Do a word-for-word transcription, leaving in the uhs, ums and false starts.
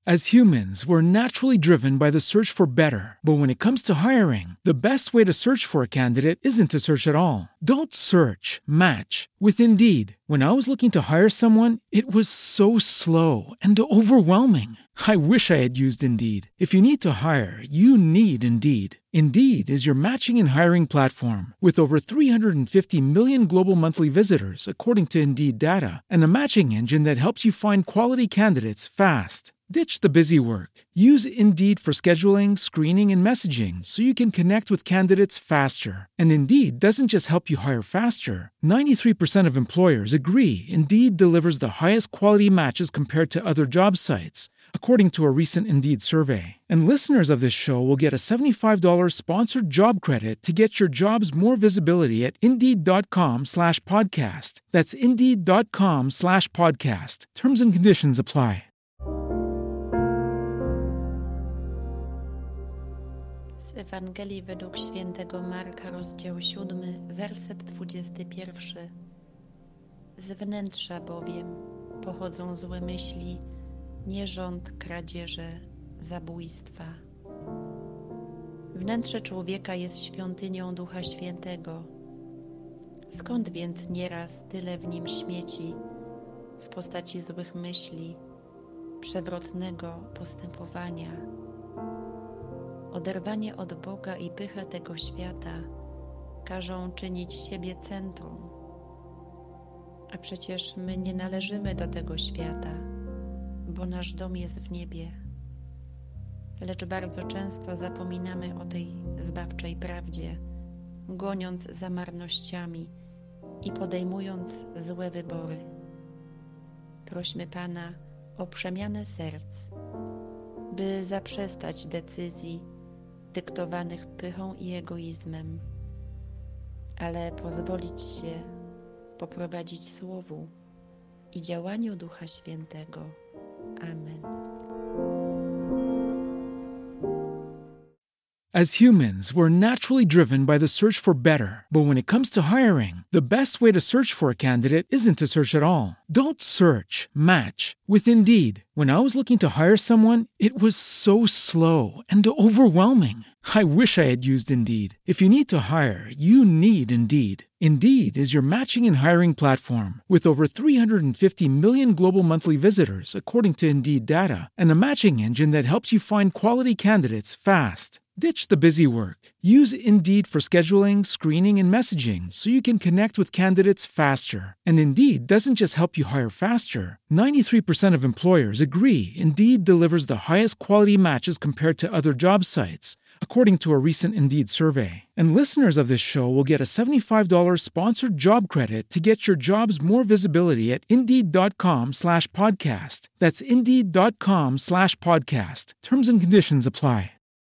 As humans, we're naturally driven by the search for better. But when it comes to hiring, the best way to search for a candidate isn't to search at all. Don't search, match with Indeed. When I was looking to hire someone, it was so slow and overwhelming. I wish I had used Indeed. If you need to hire, you need Indeed. Indeed is your matching and hiring platform with over three hundred fifty million global monthly visitors, according to Indeed data, and a matching engine that helps you find quality candidates fast. Ditch the busy work. Use Indeed for scheduling, screening, and messaging so you can connect with candidates faster. And Indeed doesn't just help you hire faster. ninety-three percent of employers agree Indeed delivers the highest quality matches compared to other job sites, according to a recent Indeed survey. And listeners of this show will get a seventy-five dollars sponsored job credit to get your jobs more visibility at Indeed.com slash podcast. That's Indeed.com slash podcast. Terms and conditions apply. Z Ewangelii według świętego Marka, rozdział siódmy, werset dwudziesty pierwszy. Z wnętrza bowiem pochodzą złe myśli, nierząd, kradzieże, zabójstwa. Wnętrze człowieka jest świątynią Ducha Świętego. Skąd więc nieraz tyle w nim śmieci w postaci złych myśli, przewrotnego postępowania? Oderwanie od Boga i pycha tego świata każą czynić siebie centrum. A przecież my nie należymy do tego świata, bo nasz dom jest w niebie. Lecz bardzo często zapominamy o tej zbawczej prawdzie, goniąc za marnościami i podejmując złe wybory. Prośmy Pana o przemianę serc, by zaprzestać decyzji dyktowanych pychą i egoizmem, ale pozwolić się poprowadzić Słowu i działaniu Ducha Świętego. Amen. As humans, we're naturally driven by the search for better. But when it comes to hiring, the best way to search for a candidate isn't to search at all. Don't search, match with Indeed. When I was looking to hire someone, it was so slow and overwhelming. I wish I had used Indeed. If you need to hire, you need Indeed. Indeed is your matching and hiring platform with over three hundred fifty million global monthly visitors, according to Indeed data, and a matching engine that helps you find quality candidates fast. Ditch the busy work. Use Indeed for scheduling, screening, and messaging so you can connect with candidates faster. And Indeed doesn't just help you hire faster. ninety-three percent of employers agree Indeed delivers the highest quality matches compared to other job sites, according to a recent Indeed survey. And listeners of this show will get a seventy-five dollars sponsored job credit to get your jobs more visibility at Indeed.com slash podcast. That's Indeed.com slash podcast. Terms and conditions apply.